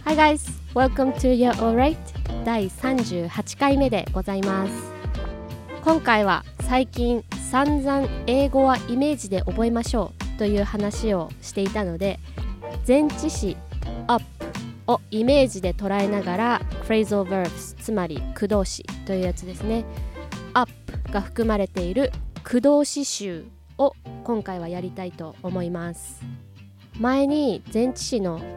Hi guys, welcome to You're Alright 第38回目でございます。今回は最近散々英語はイメージで覚えましょうという話をしていたので、前置詞 up をイメージで捉えながら phrasal verbs つまり駆動詞というやつですね、 up が含まれている駆動詞集を今回はやりたいと思います。前に前置詞の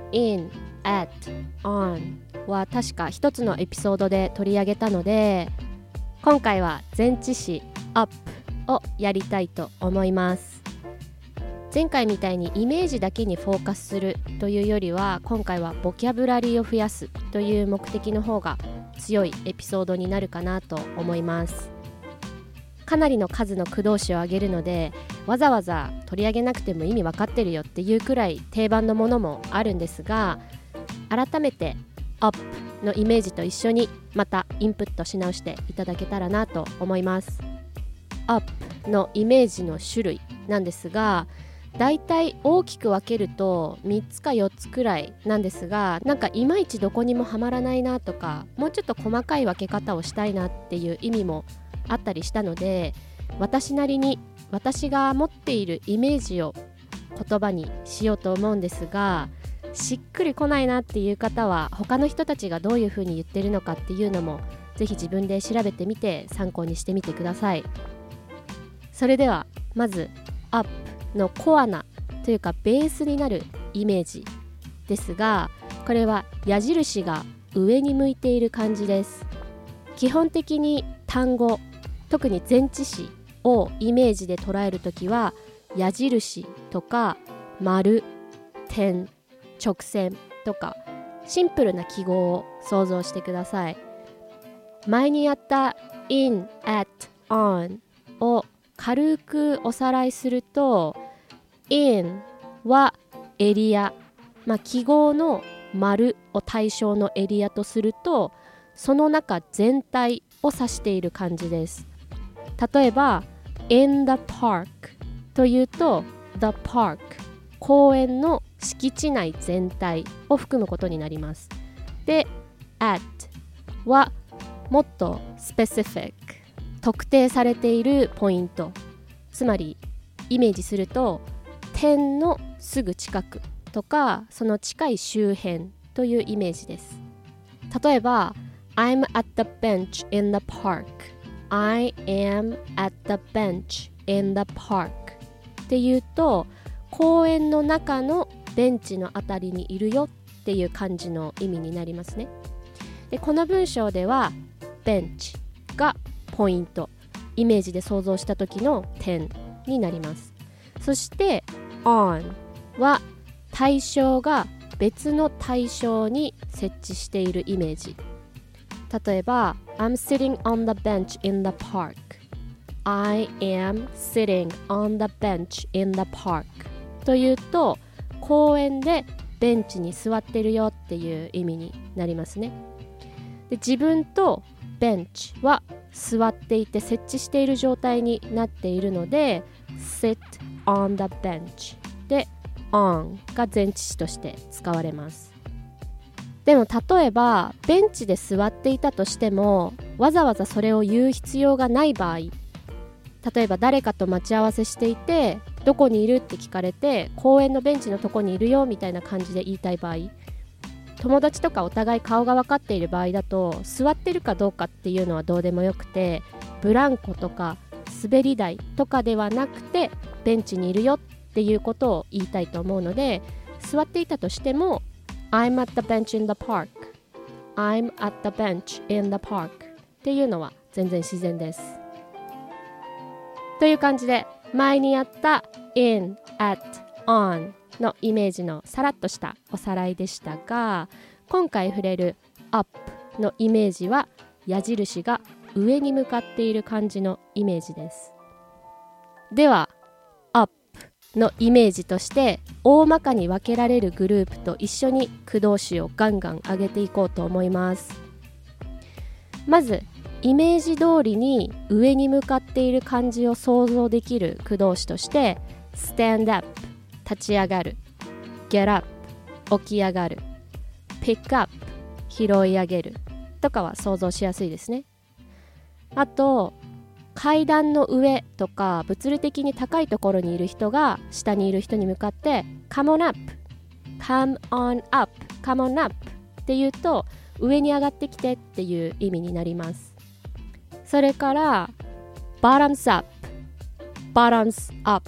in、at、on は確か一つのエピソードで取り上げたので、今回は前置詞 up をやりたいと思います。前回みたいにイメージだけにフォーカスするというよりは、今回はボキャブラリーを増やすという目的の方が強いエピソードになるかなと思います。かなりの数の駆動詞を挙げるので、わざわざ取り上げなくても意味わかってるよっていうくらい定番のものもあるんですが、改めて up のイメージと一緒にまたインプットし直していただけたらなと思います。 up のイメージの種類なんですが、だいたい大きく分けると3つか4つくらいなんですが、なんかいまいちどこにもはまらないなとか、もうちょっと細かい分け方をしたいなっていう意味もあったりしたので、私なりに私が持っているイメージを言葉にしようと思うんですが、しっくりこないなっていう方は他の人たちがどういうふうに言ってるのかっていうのもぜひ自分で調べてみて参考にしてみてください。それではまず up のコアなというかベースになるイメージですが、これは矢印が上に向いている感じです。基本的に単語、特に前置詞をイメージで捉えるときは矢印とか丸、点、直線とかシンプルな記号を想像してください。前にやった in, at, on を軽くおさらいすると、 in はエリア、記号の丸を対象のエリアとすると、その中全体を指している感じです。例えば in the park というと the park 公園の敷地内全体を含むことになります。で at はもっと specific 特定されているポイント、つまりイメージすると点のすぐ近くとかその近い周辺というイメージです。例えば I'm at the bench in the park、 I am at the bench in the park っていうと公園の中のベンチのあたりにいるよっていう感じの意味になりますね。でこの文章ではベンチがポイント、イメージで想像した時の点になります。そして on は対象が別の対象に設置しているイメージ。例えば I'm sitting on the bench in the park、 I am sitting on the bench in the park というと公園でベンチに座ってるよっていう意味になりますね。で自分とベンチは座っていて設置している状態になっているので sit on the bench で on が前置詞として使われます。でも例えばベンチで座っていたとしてもわざわざそれを言う必要がない場合、例えば誰かと待ち合わせしていてどこにいるって聞かれて公園のベンチのとこにいるよみたいな感じで言いたい場合、友達とかお互い顔が分かっている場合だと座ってるかどうかっていうのはどうでもよくて、ブランコとか滑り台とかではなくてベンチにいるよっていうことを言いたいと思うので、座っていたとしても I'm at the bench in the park、 I'm at the bench in the park っていうのは全然自然です。という感じで前にやった in, at, on のイメージのさらっとしたおさらいでしたが、今回触れる up のイメージは矢印が上に向かっている感じのイメージです。では up のイメージとして大まかに分けられるグループと一緒に駆動詞をガンガン上げていこうと思います。まずイメージ通りに上に向かっている感じを想像できる駆動詞として stand up 立ち上がる、get up 起き上がる、 pick up 拾い上げるとかは想像しやすいですね。あと階段の上とか物理的に高いところにいる人が下にいる人に向かって come on up come on up come on up って言うと上に上がってきてっていう意味になります。それから bottoms up bottoms up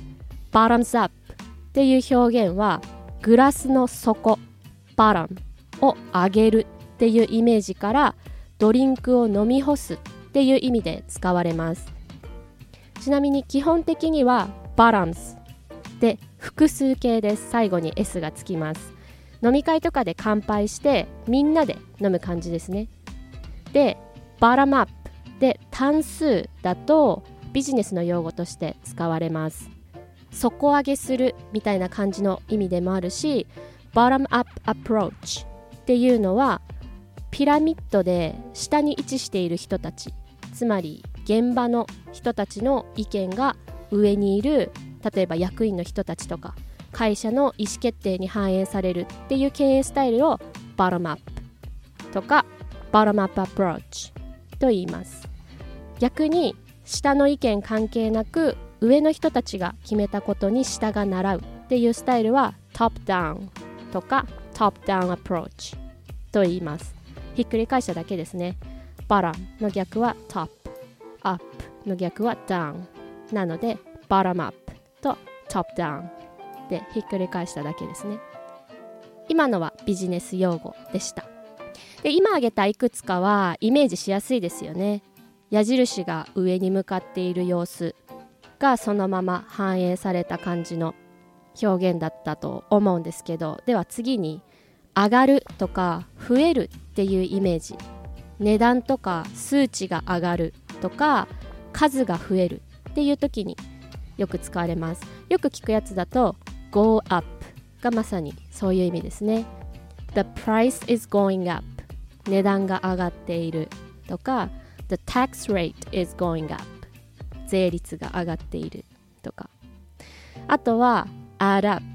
bottoms up っていう表現はグラスの底 bottom を上げるっていうイメージからドリンクを飲み干すっていう意味で使われます。ちなみに基本的には bottoms で複数形です。最後に S がつきます。飲み会とかで乾杯してみんなで飲む感じですね。で bottom up で単数だとビジネスの用語として使われます。底上げするみたいな感じの意味でもあるし bottom up approach っていうのはピラミッドで下に位置している人たち、つまり現場の人たちの意見が上にいる、例えば役員の人たちとか会社の意思決定に反映されるっていう経営スタイルを bottom up とか bottom up approach と言います。逆に下の意見関係なく上の人たちが決めたことに下が習うっていうスタイルは top down とか top down approach と言います。ひっくり返しただけですね。 bottom の逆は top up の逆は down なので bottom up と top down でひっくり返しただけですね。今のはビジネス用語でした。で今挙げたいくつかはイメージしやすいですよね。矢印が上に向かっている様子がそのまま反映された感じの表現だったと思うんですけど、では次に上がるとか増えるっていうイメージ、値段とか数値が上がるとか数が増えるっていう時によく使われます。よく聞くやつだと go up がまさにそういう意味ですね。 The price is going up 値段が上がっているとか The tax rate is going up 税率が上がっているとか、あとは add up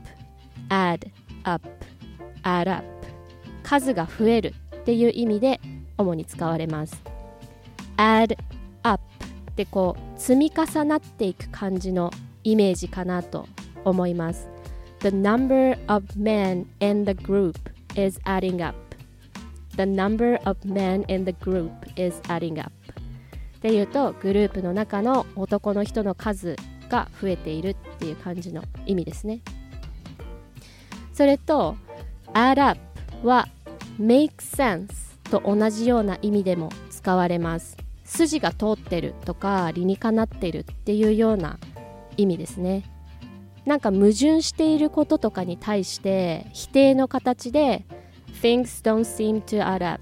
add up add up 数が増えるっていう意味で主に使われます。 add up ってこう積み重なっていく感じのイメージかなと思います。 The number of men in the group is adding up The number of men in the group is adding up っていうとグループの中の男の人の数が増えているっていう感じの意味ですね。それと add up は make sense と同じような意味でも使われます。筋が通ってるとか理にかなってるっていうような意味ですね。なんか矛盾していることとかに対して否定の形で Things don't seem to add up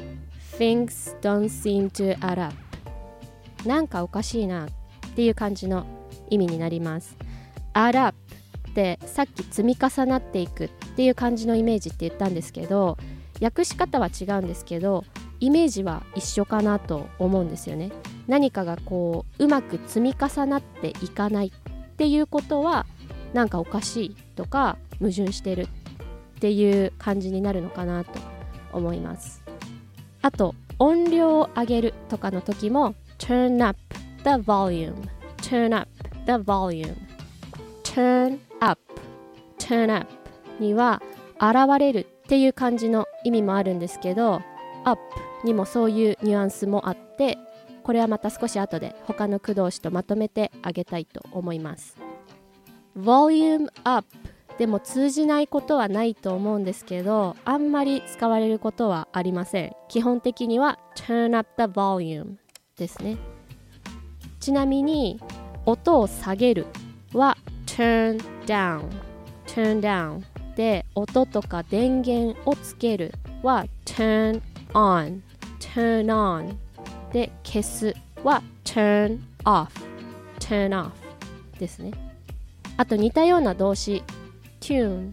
Things don't seem to add up なんかおかしいなっていう感じの意味になります。 add up ってさっき積み重なっていくっていう感じのイメージって言ったんですけど、訳し方は違うんですけどイメージは一緒かなと思うんですよね。何かがこううまく積み重なっていかないっていうことはなんかおかしいとか矛盾してるっていう感じになるのかなと思います。あと音量を上げるとかの時も turn up the volume turn up the volume turn up turn up には現れるっていう感じの意味もあるんですけど up にもそういうニュアンスもあって、これはまた少し後で他の句動詞とまとめてあげたいと思います。 volume up でも通じないことはないと思うんですけど、あんまり使われることはありません。基本的には turn up the volume ですね。ちなみに音を下げるは turn down turn down で、音とか電源をつけるは turn on turn on で、消すは turn off turn off ですね。あと似たような動詞tune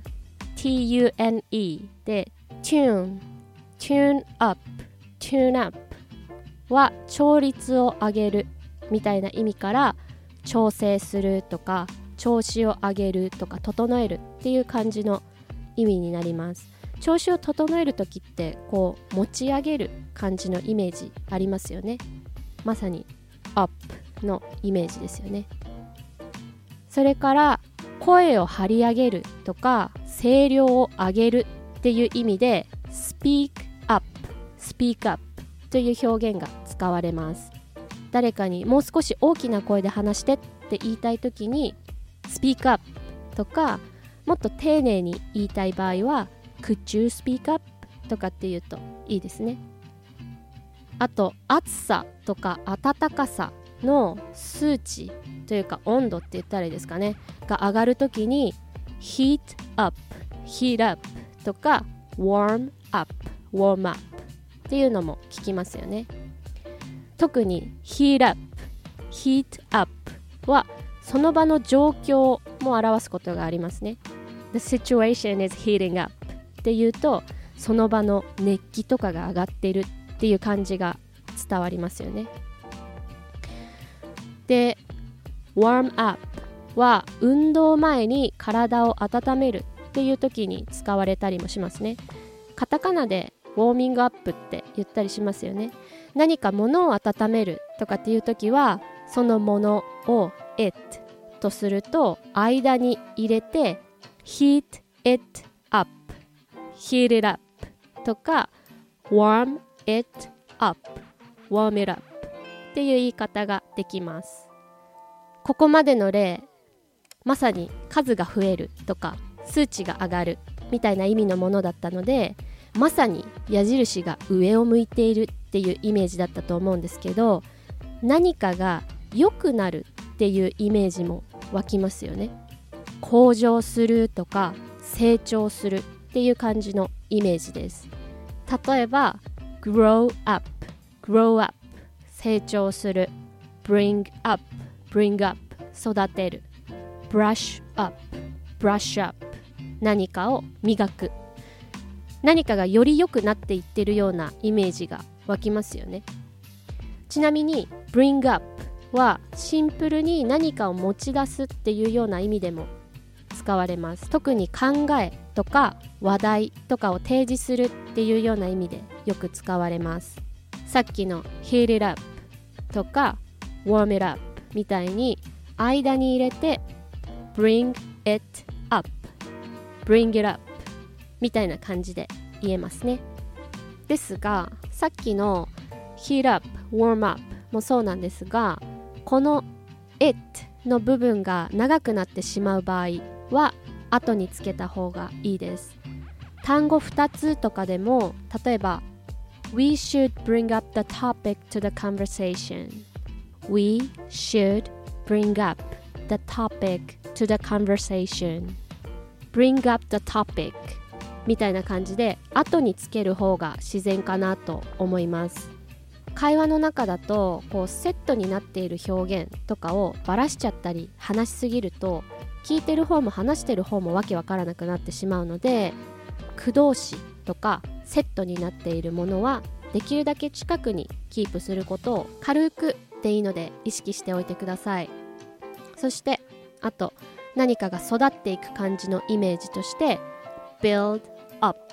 T-U-N-E で tune up tune up は調律を上げるみたいな意味から調整するとか調子を上げるとか整えるっていう感じの意味になります。 調子を整えるときってこう持ち上げる感じのイメージありますよね。まさにアップのイメージですよね。それから声を張り上げるとか声量を上げるっていう意味で speak up という表現が使われます。誰かにもう少し大きな声で話してって言いたいときに speak up とか、もっと丁寧に言いたい場合は could you speak up とかって言うといいですね。あと暑さとか暖かさの数値というか温度って言ったらいいですかねが上がるときに heat up とか warm up っていうのも聞きますよね。特に heat up はその場の状況も表すことがありますね。 The situation is heating up っていうとその場の熱気とかが上がっているっていう感じが伝わりますよね。で warm up は運動前に体を温めるっていう時に使われたりもしますね。カタカナでウォーミングアップって言ったりしますよね。何か物を温めるとかっていう時はそのものを it とすると間に入れて heat it up とか warm it up っていう言い方ができます。ここまでの例、まさに数が増えるとか数値が上がるみたいな意味のものだったので、まさに矢印が上を向いているっていうイメージだったと思うんですけど、何かが良くなるっていうイメージも湧きますよね。向上するとか成長するっていう感じのイメージです。例えば grow up 成長する、 bring up 育てる、 brush up 何かを磨く、何かがより良くなっていってるようなイメージが湧きますよね。ちなみに bring up はシンプルに何かを持ち出すっていうような意味でも使われます。特に考えとか話題とかを提示するっていうような意味でよく使われます。さっきの heat it up とか warm it up みたいに間に入れて bring it up みたいな感じで言えますね。ですがさっきの heat up warm up もそうなんですが、この it の部分が長くなってしまう場合は後につけた方がいいです。単語2つとかでも、例えば We should bring up the topic to the conversation We should bring up the topic to the conversation Bring up the topic みたいな感じで後につける方が自然かなと思います。会話の中だとこうセットになっている表現とかをバラしちゃったり話しすぎると聞いてる方も話してる方もわけわからなくなってしまうので、句動詞とかセットになっているものはできるだけ近くにキープすることを軽くでいいので意識しておいてください。そしてあと何かが育っていく感じのイメージとしてbuild up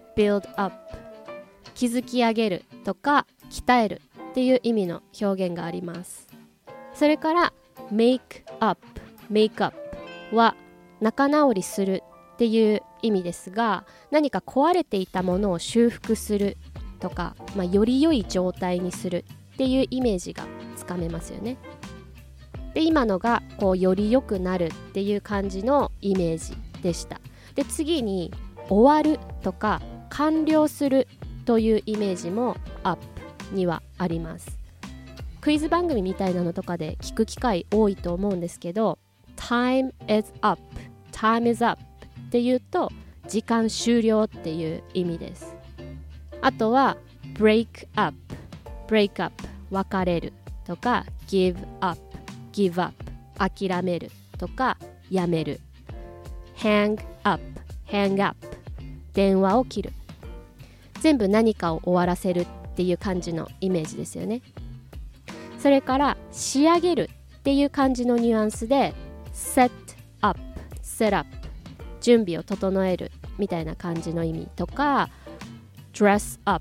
築き上げるとか鍛えるっていう意味の表現があります。それから make up は仲直りするっていう意味ですが、何か壊れていたものを修復するとか、より良い状態にするっていうイメージがつかめますよね。で今のがこうより良くなるっていう感じのイメージでした。で次に終わるとか完了するというイメージも up にはあります。クイズ番組みたいなのとかで聞く機会多いと思うんですけど、 time is up っていうと時間終了っていう意味です。あとは break up 別れるとか give up 諦めるとかやめる、 hang up 電話を切る、全部何かを終わらせるっていう感じのイメージですよね。それから仕上げるっていう感じのニュアンスで set up 準備を整えるみたいな感じの意味とか、dress up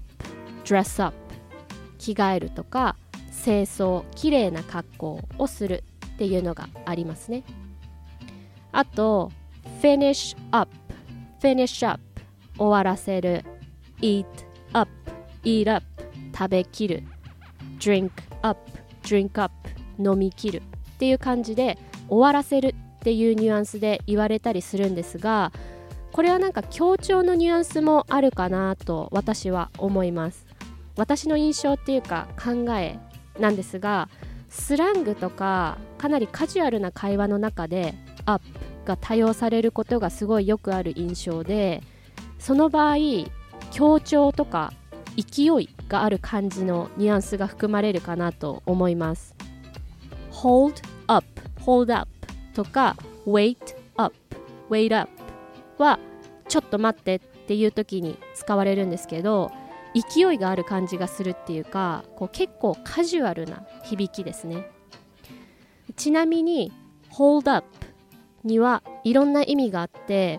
着替えるとか、清掃きれいな格好をするっていうのがありますね。あと finish up 終わらせる、eat up 食べきる、drink up 飲みきるっていう感じで終わらせるっていうニュアンスで言われたりするんですが、これはなんか強調のニュアンスもあるかなと私は思います。私の印象っていうか考えなんですが、スラングとかかなりカジュアルな会話の中で up が多用されることがすごいよくある印象で、その場合強調とか勢いがある感じのニュアンスが含まれるかなと思います。 hold up とか wait up はちょっと待ってっていう時に使われるんですけど、勢いがある感じがするっていうか、こう結構カジュアルな響きですね。ちなみに hold up にはいろんな意味があって、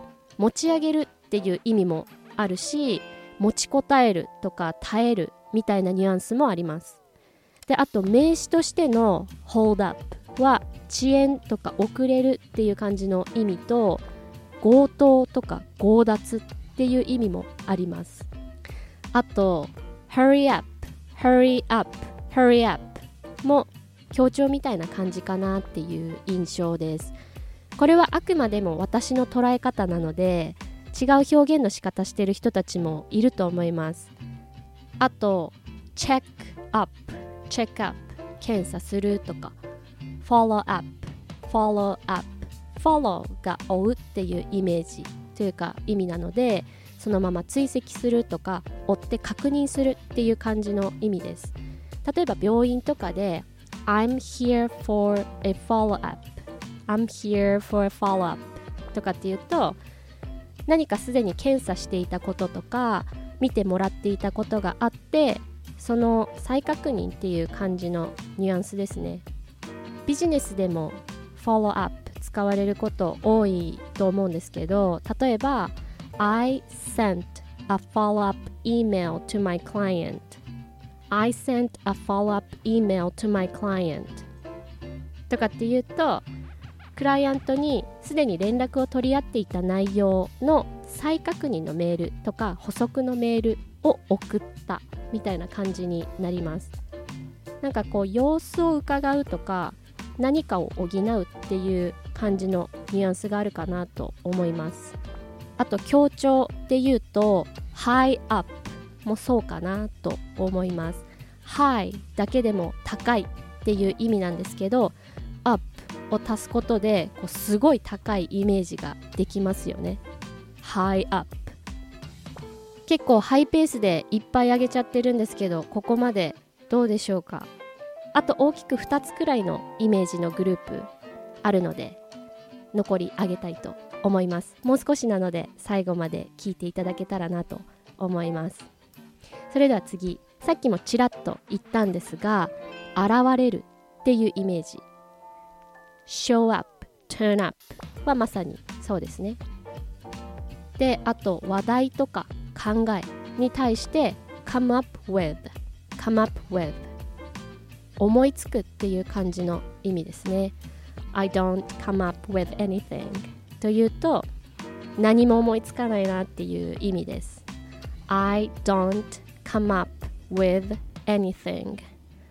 持ち上げるっていう意味もあるし、持ちこたえるとか耐えるみたいなニュアンスもあります。で、あと名詞としての hold up は遅延とか遅れるっていう感じの意味と、強盗とか強奪っていう意味もあります。あと hurry up も強調みたいな感じかなっていう印象です。これはあくまでも私の捉え方なので、違う表現の仕方してる人たちもいると思います。あと check up 検査するとか、 follow up が追うっていうイメージというか意味なので、そのまま追跡するとか追って確認するっていう感じの意味です。例えば病院とかで I'm here for a follow up とかっていうと、何かすでに検査していたこととか見てもらっていたことがあって、その再確認っていう感じのニュアンスですね。ビジネスでも follow up 使われること多いと思うんですけど、例えば I sent a follow-up email to my client とかっていうと、クライアントにすでに連絡を取り合っていた内容の再確認のメールとか補足のメールを送ったみたいな感じになります。なんかこう様子を伺うとか何かを補うっていう感じのニュアンスがあるかなと思います。あと強調で言うと high up もそうかなと思います。 high だけでも高いっていう意味なんですけど、 up を足すことでこうすごい高いイメージができますよね。 high up 結構ハイペースでいっぱい上げちゃってるんですけど、ここまでどうでしょうか。あと大きく2つくらいのイメージのグループあるので、残り上げたいと思います。もう少しなので最後まで聞いていただけたらなと思います。それでは次、さっきもちらっと言ったんですが、現れるっていうイメージ、 show up turn up はまさにそうですね。で、あと話題とか考えに対して come up with 思いつくっていう感じの意味ですね。 I don't come up with anything というと、何も思いつかないなっていう意味です。 I don't come up with anything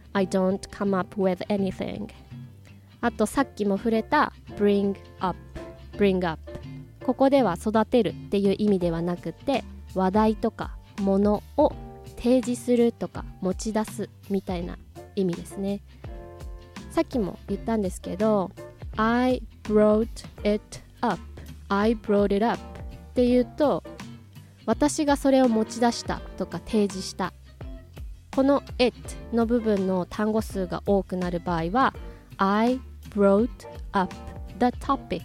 あとさっきも触れた bring up ここでは育てるっていう意味ではなくて、話題とかものを提示するとか持ち出すみたいな意味ですね。さっきも言ったんですけど I brought it up っていうと、私がそれを持ち出したとか提示した、この it の部分の単語数が多くなる場合は I brought up the topic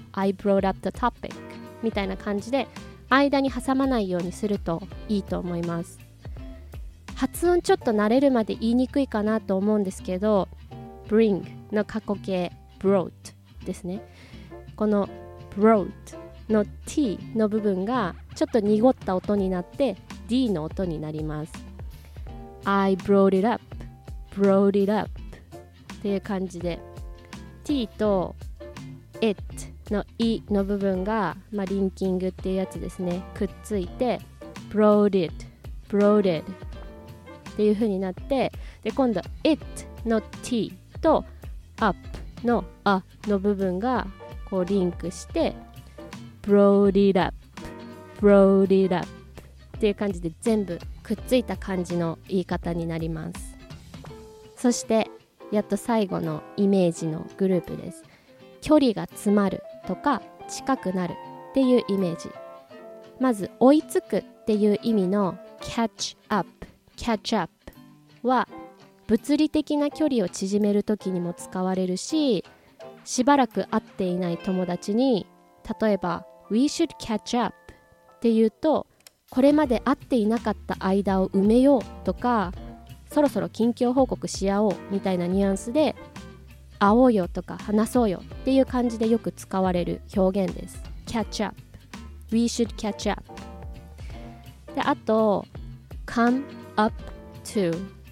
みたいな感じで間に挟まないようにするといいと思います。発音ちょっと慣れるまで言いにくいかなと思うんですけど、 bring の過去形 brought ですね。この brought の t の部分がちょっと濁った音になって d の音になります。 I brought it up brought it up っていう感じで t と it の i の部分が、リンキングっていうやつですね、くっついて brought it brought it っていう風になって、で今度 it の t と up の a の部分がこうリンクして brought it up brought it up っていう感じで全部くっついた感じの言い方になります。そしてやっと最後のイメージのグループです。距離が詰まるとか近くなるっていうイメージ。まず追いつくっていう意味の catch up は物理的な距離を縮めるときにも使われるし、しばらく会っていない友達に例えば We should catch up って言うと、これまで会っていなかった間を埋めようとか、そろそろ近況報告し合おうみたいなニュアンスで会おうよとか話そうよっていう感じでよく使われる表現です。 catch up We should catch up で、あと come up to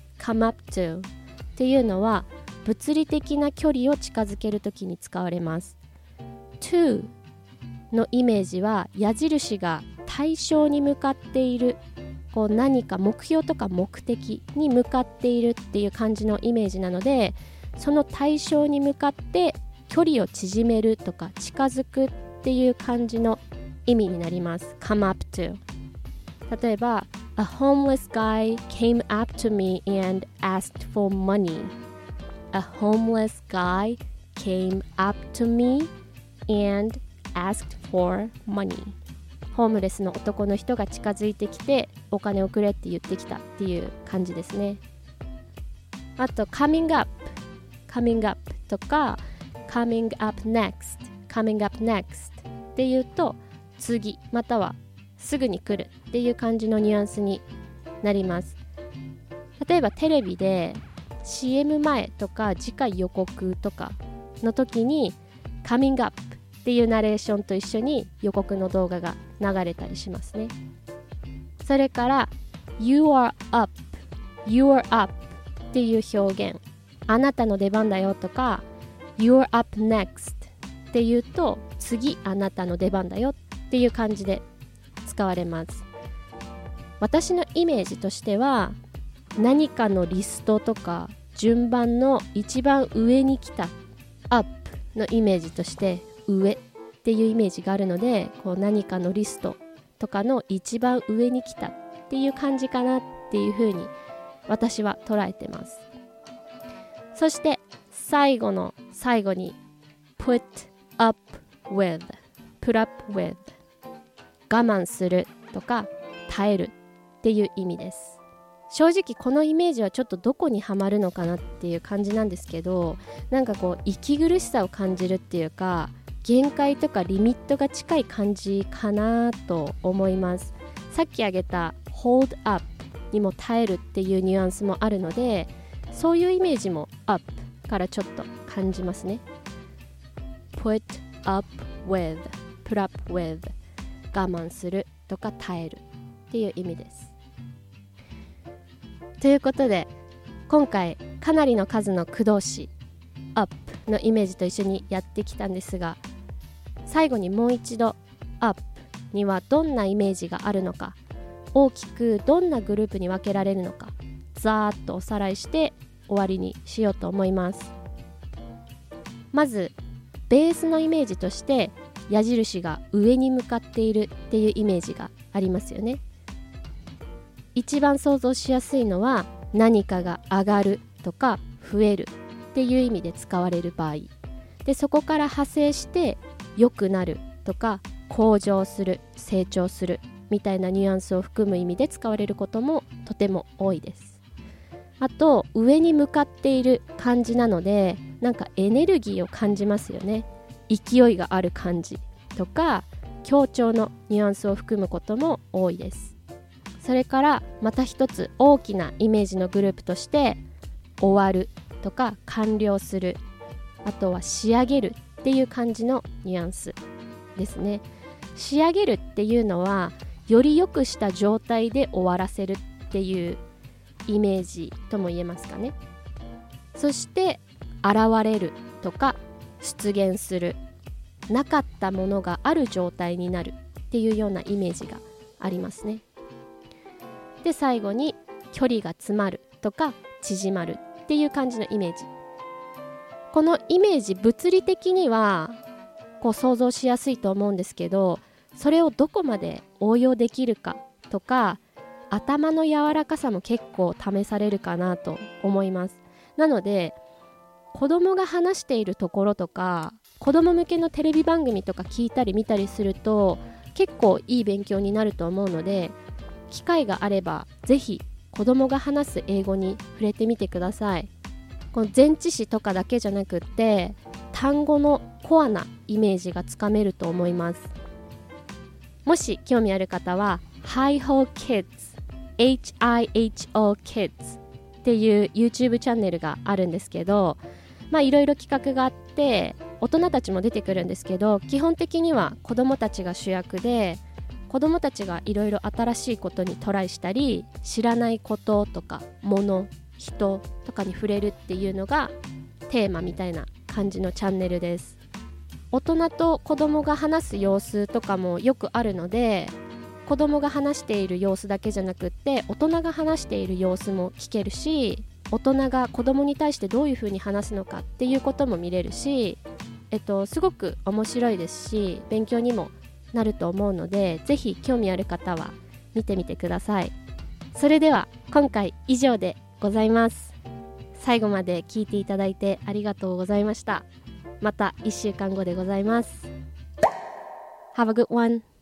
っていうのは物理的な距離を近づけるときに使われます。 to のイメージは矢印が対象に向かっている、こう何か目標とか目的に向かっているっていう感じのイメージなので、その対象に向かって距離を縮めるとか近づくっていう感じの意味になります。 come up to。 例えば A homeless guy came up to me and asked for money. A homeless guy came up to me and asked for money. ホームレスの男の人が近づいてきてお金をくれって言ってきたっていう感じですね。あと coming up とか coming up next っていうと次またはすぐに来るっていう感じのニュアンスになります。例えばテレビで CM 前とか次回予告とかの時に coming up っていうナレーションと一緒に予告の動画が流れたりしますね。それから you are up っていう表現、あなたの出番だよとか you're up next っていうと次あなたの出番だよっていう感じで使われます。私のイメージとしては何かのリストとか順番の一番上に来た up のイメージとして上っていうイメージがあるので、こう何かのリストとかの一番上に来たっていう感じかなっていう風に私は捉えてます。そして最後の最後に put up with 我慢するとか耐えるっていう意味です。正直このイメージはちょっとどこにはまるのかなっていう感じなんですけど、なんかこう息苦しさを感じるっていうか限界とかリミットが近い感じかなと思います。さっき挙げた hold up にも耐えるっていうニュアンスもあるので、そういうイメージも up からちょっと感じますね。 put up with 我慢するとか耐えるっていう意味です。ということで今回かなりの数の駆動詞 up のイメージと一緒にやってきたんですが、最後にもう一度 up にはどんなイメージがあるのか、大きくどんなグループに分けられるのか、ざーっとおさらいして終わりにしようと思います。まずベースのイメージとして矢印が上に向かっているっていうイメージがありますよね。一番想像しやすいのは何かが上がるとか増えるっていう意味で使われる場合で、そこから派生して良くなるとか向上する、成長するみたいなニュアンスを含む意味で使われることもとても多いです。あと上に向かっている感じなので、なんかエネルギーを感じますよね。勢いがある感じとか強調のニュアンスを含むことも多いです。それからまた一つ大きなイメージのグループとして終わるとか完了する、あとは仕上げるっていう感じのニュアンスですね。 仕上げるっていうのはより良くした状態で終わらせるっていうイメージとも言えますかね。そして現れるとか出現する、なかったものがある状態になるっていうようなイメージがありますね。で最後に距離が詰まるとか縮まるっていう感じのイメージ。このイメージ物理的にはこう想像しやすいと思うんですけど、それをどこまで応用できるかとか頭の柔らかさも結構試されるかなと思います。なので子供が話しているところとか子供向けのテレビ番組とか聞いたり見たりすると結構いい勉強になると思うので、機会があればぜひ子供が話す英語に触れてみてください。この前置詞とかだけじゃなくって単語のコアなイメージがつかめると思います。もし興味ある方は Hi-Ho Kids HIHO Kids っていう YouTube チャンネルがあるんですけど、いろいろ企画があって大人たちも出てくるんですけど、基本的には子どもたちが主役で、子どもたちがいろいろ新しいことにトライしたり、知らないこととか物、人とかに触れるっていうのがテーマみたいな感じのチャンネルです。大人と子どもが話す様子とかもよくあるので、子どもが話している様子だけじゃなくって大人が話している様子も聞けるし、大人が子どもに対してどういうふうに話すのかっていうことも見れるし、すごく面白いですし勉強にもなると思うので、ぜひ興味ある方は見てみてください。それでは今回以上でございます。最後まで聞いていただいてありがとうございました。また1週間後でございます。Have a good one.